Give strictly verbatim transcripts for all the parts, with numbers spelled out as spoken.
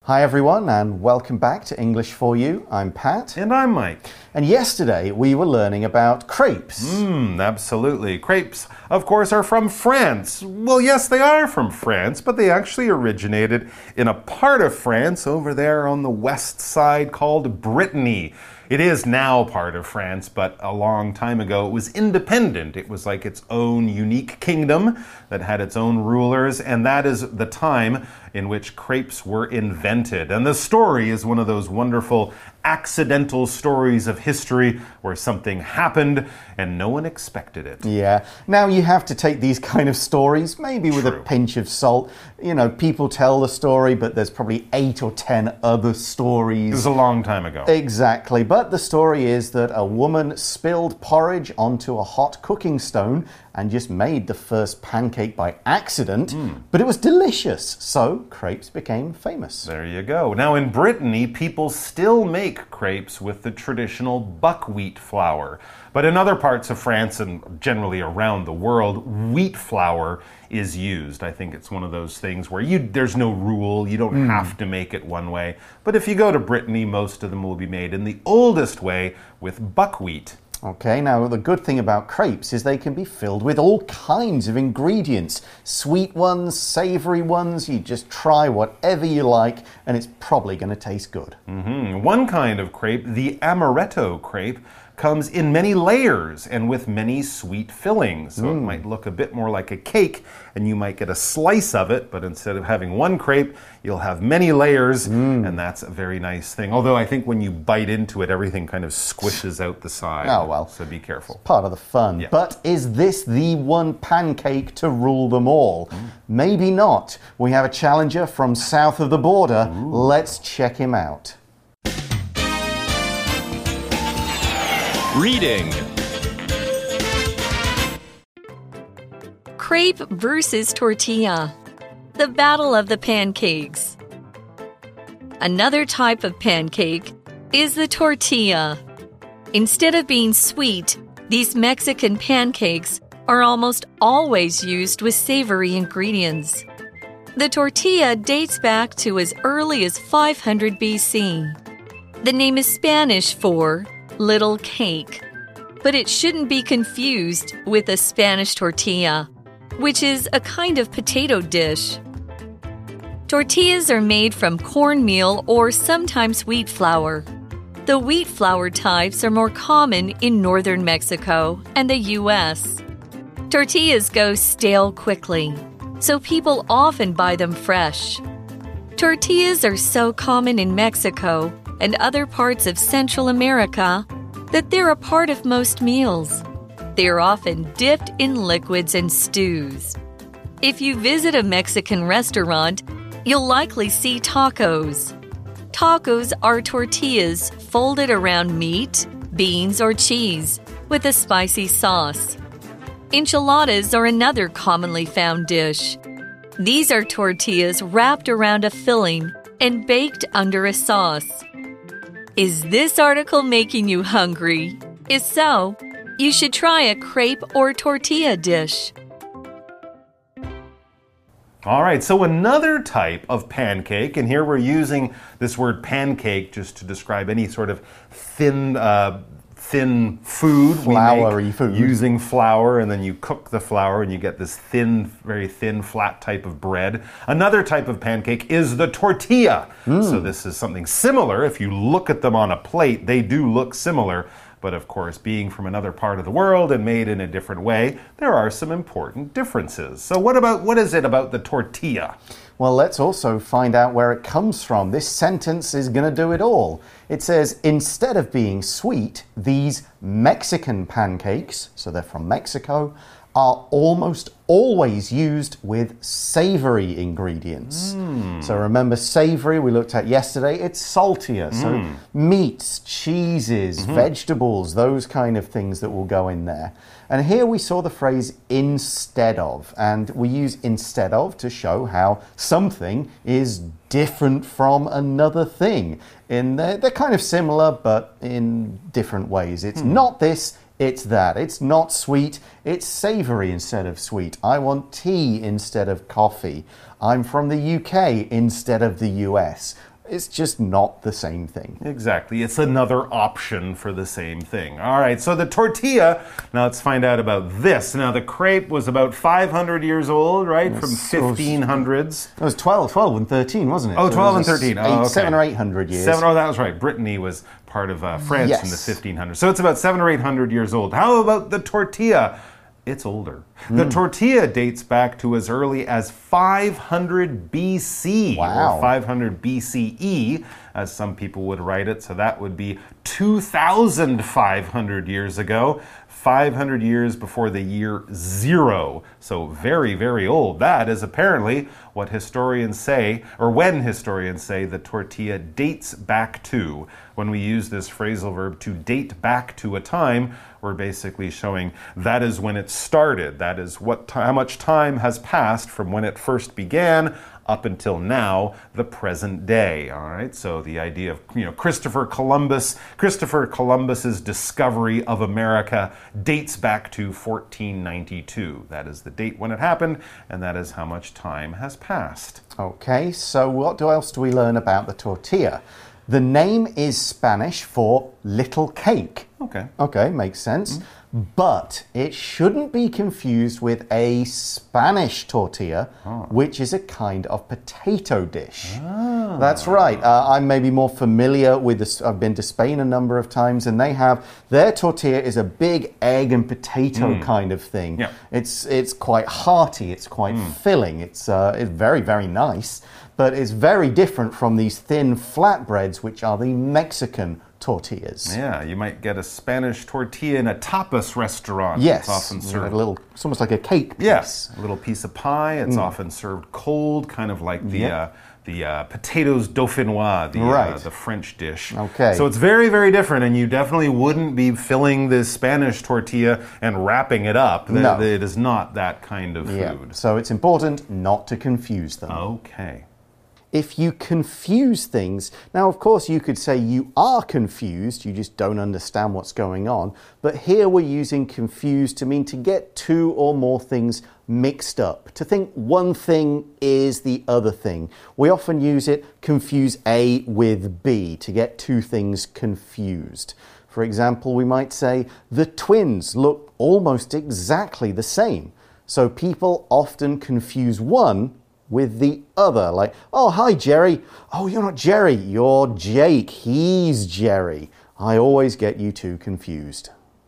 Hi everyone and welcome back to English for You. I'm Pat. And I'm Mike. And yesterday we were learning about crepes. Mmm, absolutely. Crepes, of course, are from France. Well, yes, they are from France, but they actually originated in a part of France over there on the west side called Brittany. It is now part of France, but a long time ago it was independent. It was like its own unique kingdom that had its own rulers, and that is the time in which crepes were invented. And the story is one of those wonderful accidental stories of history where something happened and no one expected it. Yeah. Now you have to take these kind of stories maybe with True. a pinch of salt. You know, people tell the story, but there's probably eight or ten other stories. It was a long time ago. Exactly. But the story is that a woman spilled porridge onto a hot cooking stone and just made the first pancake by accident, mm. but it was delicious, so crepes became famous. There you go. Now in Brittany, people still make crepes with the traditional buckwheat flour. But in other parts of France and generally around the world, wheat flour is used. I think it's one of those things where you there's no rule, you don't mm. have to make it one way. But if you go to Brittany, most of them will be made in the oldest way with buckwheat. Okay, now the good thing about crepes is they can be filled with all kinds of ingredients. Sweet ones, savory ones, you just try whatever you like and it's probably going to taste good. Mm-hmm. One kind of crepe, the amaretto crepe, comes in many layers and with many sweet fillings. So mm. it might look a bit more like a cake and you might get a slice of it, but instead of having one crepe, you'll have many layers mm. and that's a very nice thing. Although I think when you bite into it, everything kind of squishes out the side. Oh, well. So be careful. It's part of the fun. Yeah. But is this the one pancake to rule them all? Mm. Maybe not. We have a challenger from south of the border. Ooh. Let's check him out. Reading. Crepe versus tortilla. The battle of the pancakes. Another type of pancake is the tortilla. Instead of being sweet, these Mexican pancakes are almost always used with savory ingredients. The tortilla dates back to as early as five hundred B C. The name is Spanish for little cake, but it shouldn't be confused with a Spanish tortilla, which is a kind of potato dish. Tortillas are made from cornmeal or sometimes wheat flour. The wheat flour types are more common in northern Mexico and the U S. Tortillas go stale quickly, so people often buy them fresh. Tortillas are so common in Mexico and other parts of Central America that they're a part of most meals. They are often dipped in liquids and stews. If you visit a Mexican restaurant, you'll likely see tacos. Tacos are tortillas folded around meat, beans, or cheese with a spicy sauce. Enchiladas are another commonly found dish. These are tortillas wrapped around a filling and baked under a sauce. Is this article making you hungry? If so, you should try a crepe or tortilla dish. All right, so another type of pancake, and here we're using this word pancake just to describe any sort of thin uh, thin food. Floury we make food. Using flour, and then you cook the flour and you get this thin, very thin, flat type of bread. Another type of pancake is the tortilla. Mm. So this is something similar. If you look at them on a plate, they do look similar. But of course, being from another part of the world and made in a different way, there are some important differences. So what about what is it about the tortilla? Well, let's also find out where it comes from. This sentence is going to do it all. It says, instead of being sweet, these Mexican pancakes, so they're from Mexico, are almost always used with savory ingredients. Mm. So remember savory we looked at yesterday, it's saltier. Mm. So meats, cheeses, mm-hmm. vegetables, those kind of things that will go in there. And here we saw the phrase instead of, and we use instead of to show how something is different from another thing. In they're, they're kind of similar, but in different ways. It's mm. not this, it's that. It's not sweet, it's savory instead of sweet. I want tea instead of coffee. I'm from the U K instead of the U S. It's just not the same thing. Exactly. It's another option for the same thing. All right, so the tortilla, now let's find out about this. Now, the crepe was about five hundred years old, right? From fifteen hundreds. It was twelve, twelve and thirteen, wasn't it? Oh, so twelve it and thirteen. Eight, oh, okay. Seven or eight hundred years. Seven, oh, that was right. Brittany was part of uh, France yes. in the fifteen hundreds. So it's about seven or eight hundred years old. How about the tortilla? It's older. Mm. The tortilla dates back to as early as five hundred B C wow. or five hundred B C E, as some people would write it. So that would be two thousand five hundred years ago, five hundred years before the year zero. So very, very old. That is apparently what historians say, or when historians say the tortilla dates back to. When we use this phrasal verb to date back to a time, we're basically showing that is when it started. That is what how much time has passed from when it first began up until now, the present day. All right. So the idea of you know Christopher Columbus, Christopher Columbus's discovery of America dates back to fourteen ninety-two. That is the date when it happened, and that is how much time has passed. Okay. So what else do we learn about the tortilla? The name is Spanish for little cake. Okay. Okay, makes sense. Mm. But it shouldn't be confused with a Spanish tortilla, oh. which is a kind of potato dish. Ah. That's right. Uh, I'm maybe more familiar with this. I've been to Spain a number of times, and they have their tortilla is a big egg and potato mm. kind of thing. Yeah. It's it's quite hearty. It's quite mm. filling. It's uh, it's very very nice. But it's very different from these thin flatbreads, which are the Mexican tortillas. Yeah, you might get a Spanish tortilla in a tapas restaurant. Yes, it's often served. A little, it's almost like a cake piece. Yes, a little piece of pie. It's mm. often served cold, kind of like the yep. uh, the uh, potatoes dauphinois, the right. uh, the French dish. Okay. So it's very very different, and you definitely wouldn't be filling this Spanish tortilla and wrapping it up. No. It is not that kind of food. Yeah. So it's important not to confuse them. Okay. If you confuse things, now of course you could say you are confused, you just don't understand what's going on, but here we're using confused to mean to get two or more things mixed up, to think one thing is the other thing. We often use it confuse A with B to get two things confused. For example, we might say the twins look almost exactly the same. So people often confuse one with the other, like, oh, hi, Jerry. Oh, you're not Jerry, you're Jake. He's Jerry. I always get you two confused.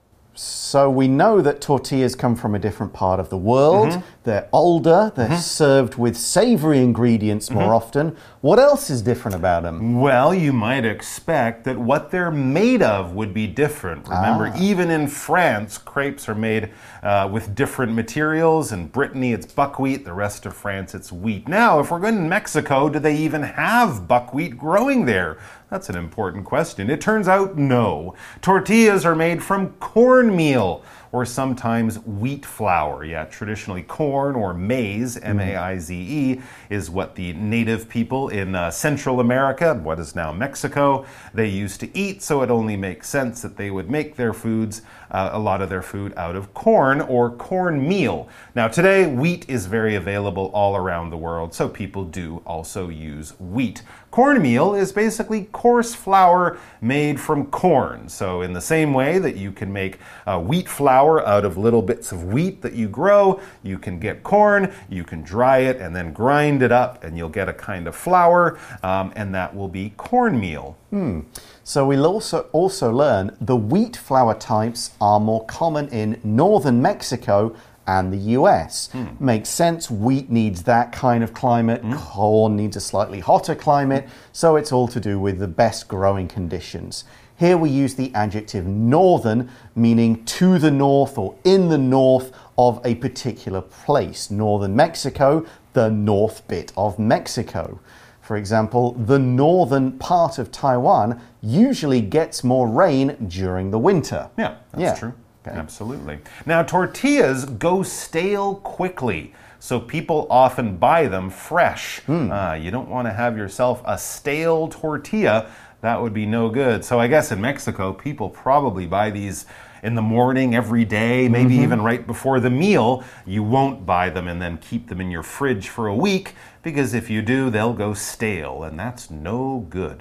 So we know that tortillas come from a different part of the world. Mm-hmm. They're older. They're mm-hmm. served with savory ingredients more mm-hmm. often. What else is different about them? Well, you might expect that what they're made of would be different. Remember, ah. even in France, crepes are made uh, with different materials. In Brittany, it's buckwheat. The rest of France, it's wheat. Now, if we're going to Mexico, do they even have buckwheat growing there? That's an important question. It turns out no. Tortillas are made from cornmeal, or sometimes wheat flour. Yeah, traditionally corn or maize, M A I Z E, is what the native people in uh, Central America, what is now Mexico, they used to eat, so it only makes sense that they would make their foods, uh, a lot of their food out of corn or cornmeal. Now today, wheat is very available all around the world, so people do also use wheat. Cornmeal is basically coarse flour made from corn. So in the same way that you can make uh, wheat flour out of little bits of wheat that you grow, you can get corn, you can dry it and then grind it up and you'll get a kind of flour, um, and that will be cornmeal. Hmm. So we'll also, also learn the wheat flour types are more common in northern Mexico and the U S. Mm. Makes sense, wheat needs that kind of climate, mm. corn needs a slightly hotter climate, so it's all to do with the best growing conditions. Here we use the adjective northern, meaning to the north or in the north of a particular place. Northern Mexico, the north bit of Mexico. For example, the northern part of Taiwan usually gets more rain during the winter. Yeah, that's yeah. true. Okay. Absolutely. Now, tortillas go stale quickly, so people often buy them fresh. Mm. Uh, you don't want to have yourself a stale tortilla. That would be no good. So I guess in Mexico, people probably buy these in the morning every day, maybe mm-hmm. even right before the meal, you won't buy them and then keep them in your fridge for a week, because if you do, they'll go stale, and that's no good.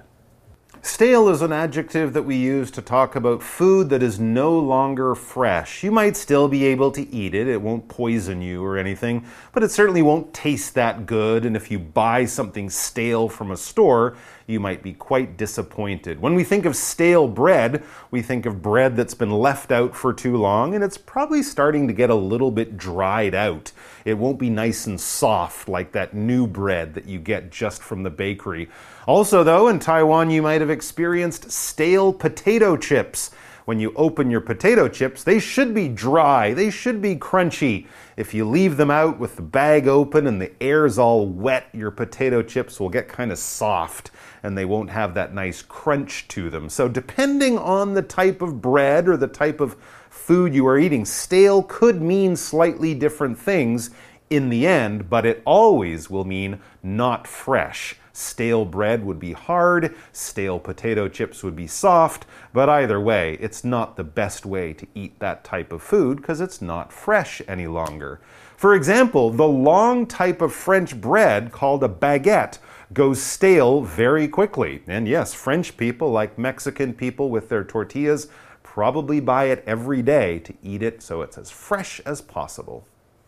Stale is an adjective that we use to talk about food that is no longer fresh. You might still be able to eat it. It won't poison you or anything, but it certainly won't taste that good. And if you buy something stale from a store, you might be quite disappointed. When we think of stale bread, we think of bread that's been left out for too long, and it's probably starting to get a little bit dried out. It won't be nice and soft like that new bread that you get just from the bakery. Also, though, in Taiwan, you might have experienced stale potato chips. When you open your potato chips, they should be dry, they should be crunchy. If you leave them out with the bag open and the air's all wet, your potato chips will get kind of soft and they won't have that nice crunch to them. So depending on the type of bread or the type of food you are eating, stale could mean slightly different things in the end, but it always will mean not fresh. Stale bread would be hard, stale potato chips would be soft, but either way, it's not the best way to eat that type of food because it's not fresh any longer. For example, the long type of French bread called a baguette goes stale very quickly. And yes, French people, like Mexican people with their tortillas, probably buy it every day to eat it so it's as fresh as possible.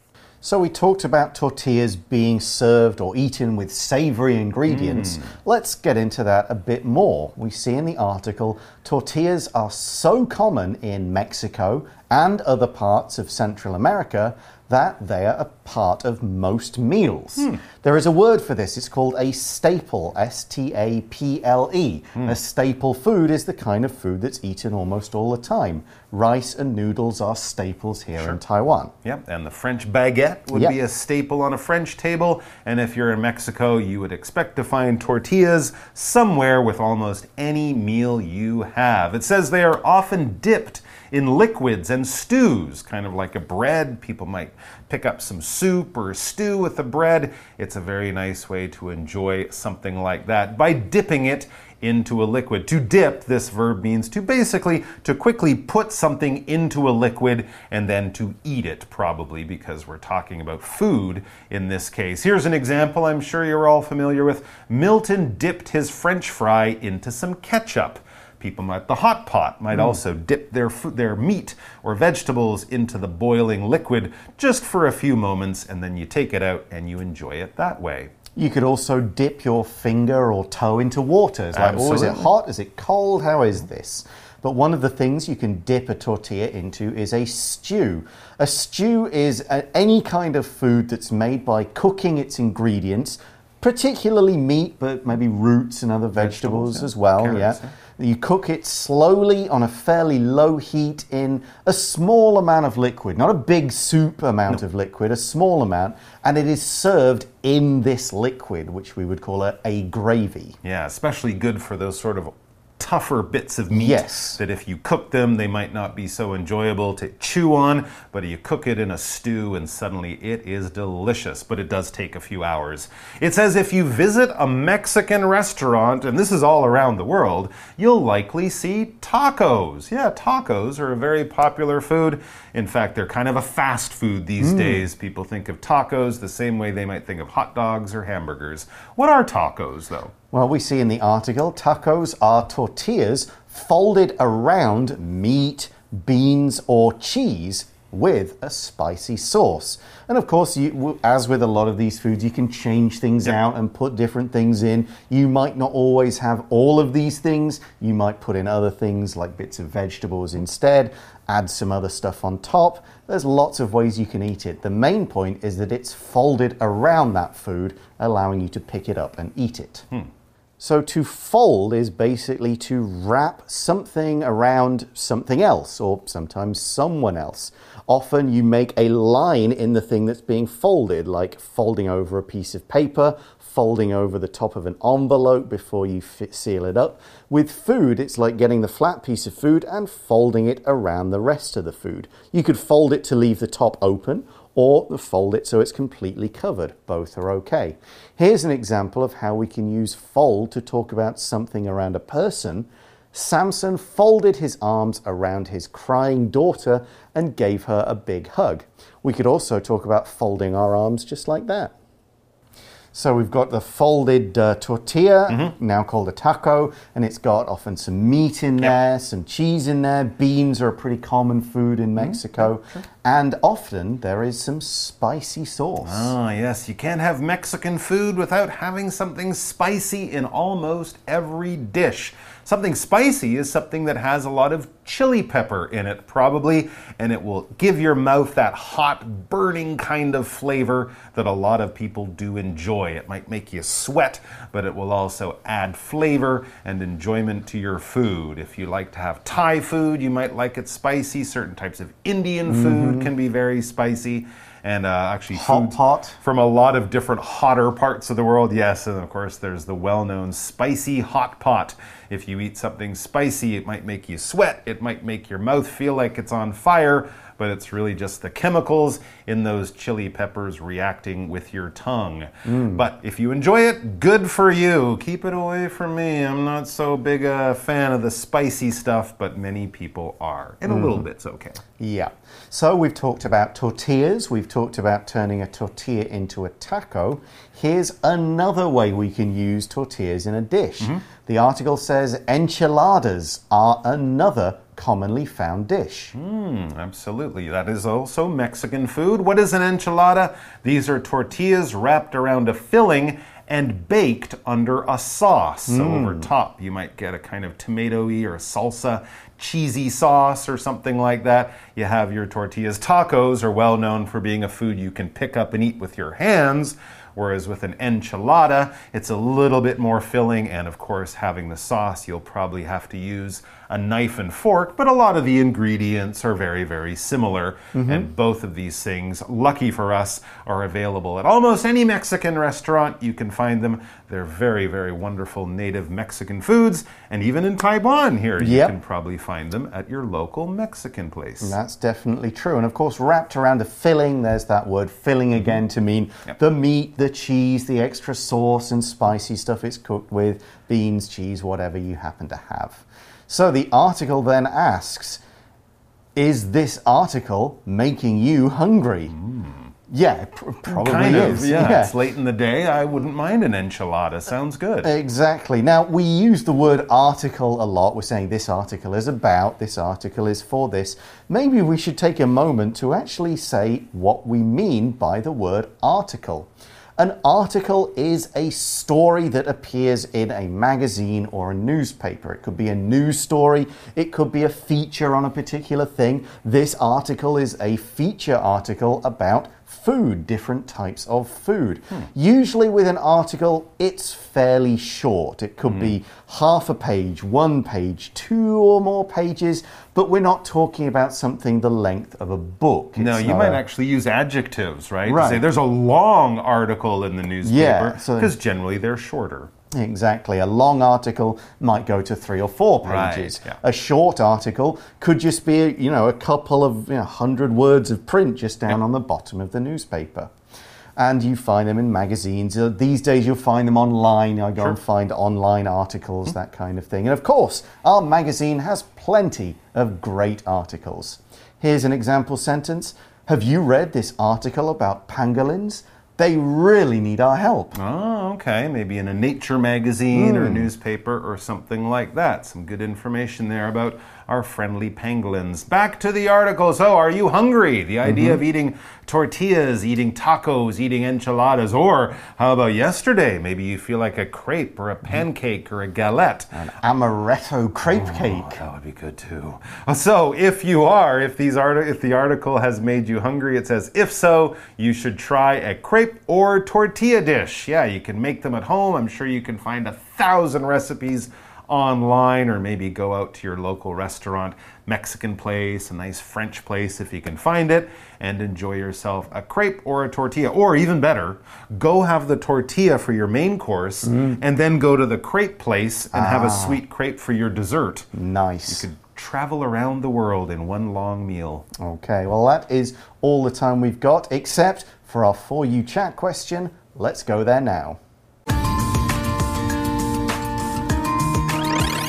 So we talked about tortillas being served or eaten with savory ingredients. Mm. Let's get into that a bit more. We see in the article, tortillas are so common in Mexico and other parts of Central America that they are a part of most meals. Hmm. There is a word for this. It's called a staple, S T A P L E. Hmm. A staple food is the kind of food that's eaten almost all the time. Rice and noodles are staples here sure. in Taiwan. Yep, and the French baguette would yep. be a staple on a French table. And if you're in Mexico, you would expect to find tortillas somewhere with almost any meal you have. It says they are often dipped in liquids and stews, kind of like a bread. People might pick up some soup or a stew with the bread. It's a very nice way to enjoy something like that by dipping it into a liquid. To dip, this verb means to basically, to quickly put something into a liquid and then to eat it, probably because we're talking about food in this case. Here's an example I'm sure you're all familiar with. Milton dipped his French fry into some ketchup. People at the hot pot might mm. also dip their food, their meat or vegetables into the boiling liquid just for a few moments, and then you take it out and you enjoy it that way. You could also dip your finger or toe into water. It's like, oh, is it hot? Is it cold? How is this? But one of the things you can dip a tortilla into is a stew. A stew is a, any kind of food that's made by cooking its ingredients, particularly meat, but maybe roots and other vegetables, vegetables yeah. as well. Carrots, yeah. yeah. You cook it slowly on a fairly low heat in a small amount of liquid, not a big soup amount no. of liquid, a small amount, and it is served in this liquid, which we would call a, a gravy. Yeah, especially good for those sort of tougher bits of meat yes. that if you cook them, they might not be so enjoyable to chew on, but you cook it in a stew and suddenly it is delicious, but it does take a few hours. It says if you visit a Mexican restaurant, and this is all around the world, you'll likely see tacos. Yeah, tacos are a very popular food. In fact, they're kind of a fast food these mm. days. People think of tacos the same way they might think of hot dogs or hamburgers. What are tacos, though? Well, we see in the article, tacos are tortillas folded around meat, beans, or cheese with a spicy sauce. And of course, you, as with a lot of these foods, you can change things yep. out and put different things in. You might not always have all of these things. You might put in other things like bits of vegetables instead, add some other stuff on top. There's lots of ways you can eat it. The main point is that it's folded around that food, allowing you to pick it up and eat it. Hmm. So to fold is basically to wrap something around something else, or sometimes someone else. Often you make a line in the thing that's being folded, like folding over a piece of paper, folding over the top of an envelope before you fit, seal it up. With food, it's like getting the flat piece of food and folding it around the rest of the food. You could fold it to leave the top open, or fold it so it's completely covered. Both are okay. Here's an example of how we can use fold to talk about something around a person. Samson folded his arms around his crying daughter and gave her a big hug. We could also talk about folding our arms just like that. So we've got the folded uh, tortilla, mm-hmm. now called a taco, and it's got often some meat in there, yep. some cheese in there. Beans are a pretty common food in Mexico. Mm-hmm. Sure. And often there is some spicy sauce. Ah, yes. You can't have Mexican food without having something spicy in almost every dish. Something spicy is something that has a lot of chili pepper in it, probably, and it will give your mouth that hot, burning kind of flavor that a lot of people do enjoy. It might make you sweat, but it will also add flavor and enjoyment to your food. If you like to have Thai food, you might like it spicy. Certain types of Indian food mm-hmm. can be very spicy. And uh, actually hot, hot from a lot of different hotter parts of the world. Yes, and of course there's the well-known spicy hot pot. If you eat something spicy, it might make you sweat. It might make your mouth feel like it's on fire, but it's really just the chemicals in those chili peppers reacting with your tongue. Mm. But if you enjoy it, good for you. Keep it away from me. I'm not so big a fan of the spicy stuff, but many people are. And mm. a little bit's okay. Yeah. So we've talked about tortillas. We've talked about turning a tortilla into a taco. Here's another way we can use tortillas in a dish. Mm-hmm. The article says enchiladas are another commonly found dish. Mm, absolutely. That is also Mexican food. What is an enchilada? These are tortillas wrapped around a filling and baked under a sauce. So mm. over top, you might get a kind of tomato-y or salsa, cheesy sauce or something like that. You have your tortillas. Tacos are well known for being a food you can pick up and eat with your hands. Whereas with an enchilada, it's a little bit more filling, and of course, having the sauce, you'll probably have to use a knife and fork, but a lot of the ingredients are very, very similar. Mm-hmm. And both of these things, lucky for us, are available at almost any Mexican restaurant. You can find them. They're very, very wonderful native Mexican foods. And even in Taiwan here, you yep. can probably find them at your local Mexican place. And that's definitely true. And of course, wrapped around a filling, there's that word filling again mm-hmm. to mean yep. the meat, the cheese, the extra sauce and spicy stuff it's cooked with, beans, cheese, whatever you happen to have. So the article then asks, is this article making you hungry? Mm. Yeah, pr probably kind is. Of, yeah. yeah, it's late in the day. I wouldn't mind an enchilada. Sounds good. Exactly. Now, we use the word article a lot. We're saying this article is about, this article is for this. Maybe we should take a moment to actually say what we mean by the word article. An article is a story that appears in a magazine or a newspaper. It could be a news story. It could be a feature on a particular thing. This article is a feature article about food, different types of food. Hmm. Usually with an article, it's fairly short. It could hmm. be half a page, one page, two or more pages, but we're not talking about something the length of a book. It's no, you might a... actually use adjectives, right? Right. To say there's a long article in the newspaper, because yeah, so generally they're shorter. Exactly. A long article might go to three or four pages. Right, yeah. A short article could just be, you know, a couple of you know, hundred words of print just down yep. on the bottom of the newspaper. And you find them in magazines. Uh, these days you'll find them online. I go sure. and find online articles, mm-hmm. that kind of thing. And of course, our magazine has plenty of great articles. Here's an example sentence. Have you read this article about pangolins? They really need our help. Oh, okay. Maybe in a nature magazine mm. or a newspaper or something like that. Some good information there about our friendly pangolins. Back to the article. So, are you hungry? The idea mm-hmm. of eating tortillas, eating tacos, eating enchiladas, or how about yesterday? Maybe you feel like a crepe or a pancake or a galette. An amaretto crepe oh, cake. That would be good too. So, if you are, if these art if the article has made you hungry, it says, if so, you should try a crepe or tortilla dish. Yeah, you can make them at home. I'm sure you can find a thousand recipes online, or maybe go out to your local restaurant, Mexican place, a nice French place if you can find it, and enjoy yourself a crepe or a tortilla. Or even better, go have the tortilla for your main course mm. and then go to the crepe place and ah. have a sweet crepe for your dessert. Nice. You could travel around the world in one long meal. Okay, well that is all the time we've got, except for our For You Chat question. Let's go there now.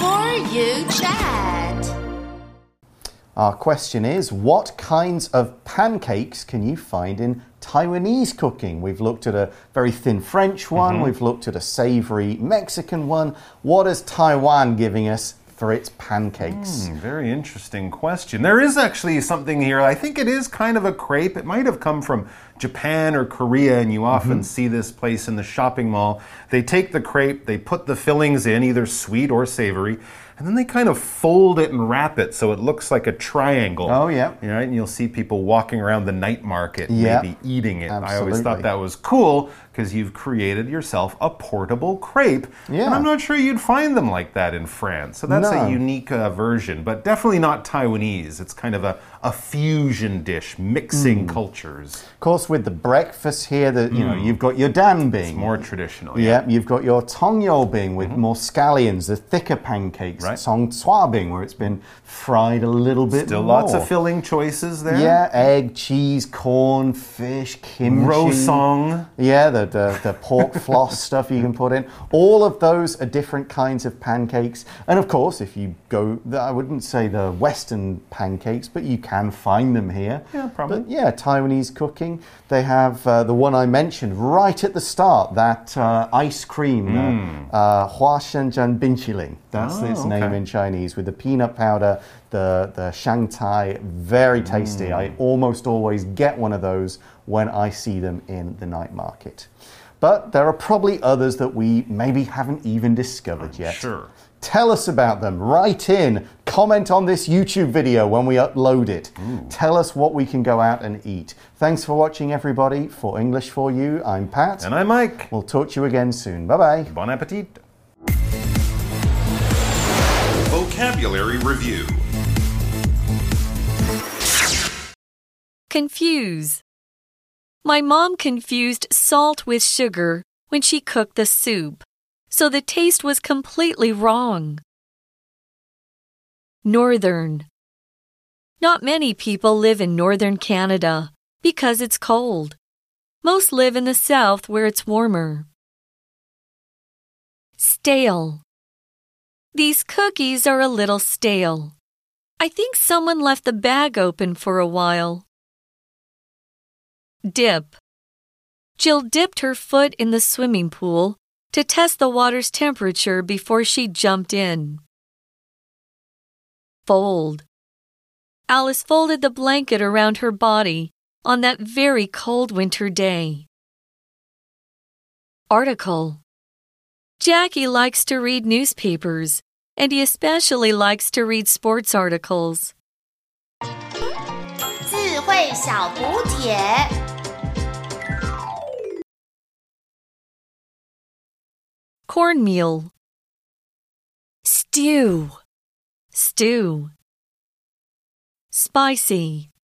you chat? Our question is, what kinds of pancakes can you find in Taiwanese cooking? We've looked at a very thin French one. Mm-hmm. We've looked at a savory Mexican one. What is Taiwan giving us for its pancakes? Mm, very interesting question. There is actually something here. I think it is kind of a crepe. It might have come from Japan or Korea, and you often mm-hmm. see this place in the shopping mall. They take the crepe, they put the fillings in, either sweet or savory, and then they kind of fold it and wrap it so it looks like a triangle. Oh, yeah. You know, and you'll see people walking around the night market, yeah. maybe eating it. Absolutely. I always thought that was cool because you've created yourself a portable crepe. Yeah. And I'm not sure you'd find them like that in France. So that's no. a unique uh, version, but definitely not Taiwanese. It's kind of a, a fusion dish, mixing mm. cultures. Of course, with the breakfast here, the, you mm. know, you've got your dan bing. It's more traditional. Yeah, yeah. You've got your tong yo bing with mm-hmm. more scallions, the thicker pancakes. Right. Song cua bing, where it's been fried a little bit Still more. lots of filling choices there. Yeah, egg, cheese, corn, fish, kimchi. Rosong. Yeah, the, the, the pork floss stuff you can put in. All of those are different kinds of pancakes. And of course, if you go, I wouldn't say the Western pancakes, but you can find them here. Yeah, probably. But yeah, Taiwanese cooking. They have uh, the one I mentioned right at the start, that uh, ice cream, mm. uh, Hua Shenzhen Binqiling. That's oh, its okay. name in Chinese, with the peanut powder, the, the Shanghai. Very tasty. Mm. I almost always get one of those when I see them in the night market. But there are probably others that we maybe haven't even discovered yet. Sure. Tell us about them. Write in. Comment on this YouTube video when we upload it. Ooh. Tell us what we can go out and eat. Thanks for watching, everybody. For English for You, I'm Pat. And I'm Mike. We'll talk to you again soon. Bye-bye. Bon appetit. Vocabulary Review. Confuse. My mom confused salt with sugar when she cooked the soup, so the taste was completely wrong. Northern. Not many people live in northern Canada because it's cold. Most live in the south where it's warmer. Stale. These cookies are a little stale. I think someone left the bag open for a while. Dip. Jill dipped her foot in the swimming pool to test the water's temperature before she jumped in. Fold. Alice folded the blanket around her body on that very cold winter day. Article. Jackie likes to read newspapers, and he especially likes to read sports articles. 智慧小补帖 Cornmeal. Stew. Stew. Spicy.